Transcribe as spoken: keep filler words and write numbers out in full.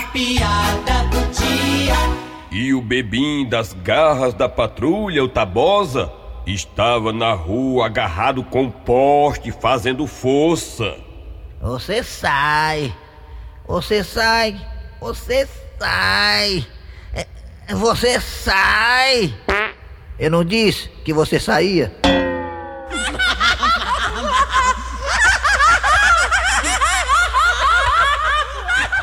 piada do dia. E o bebim das garras da patrulha, o Tabosa, estava na rua agarrado com um poste fazendo força. Você sai, você sai, você sai, é, você sai. Eu não disse que você saía?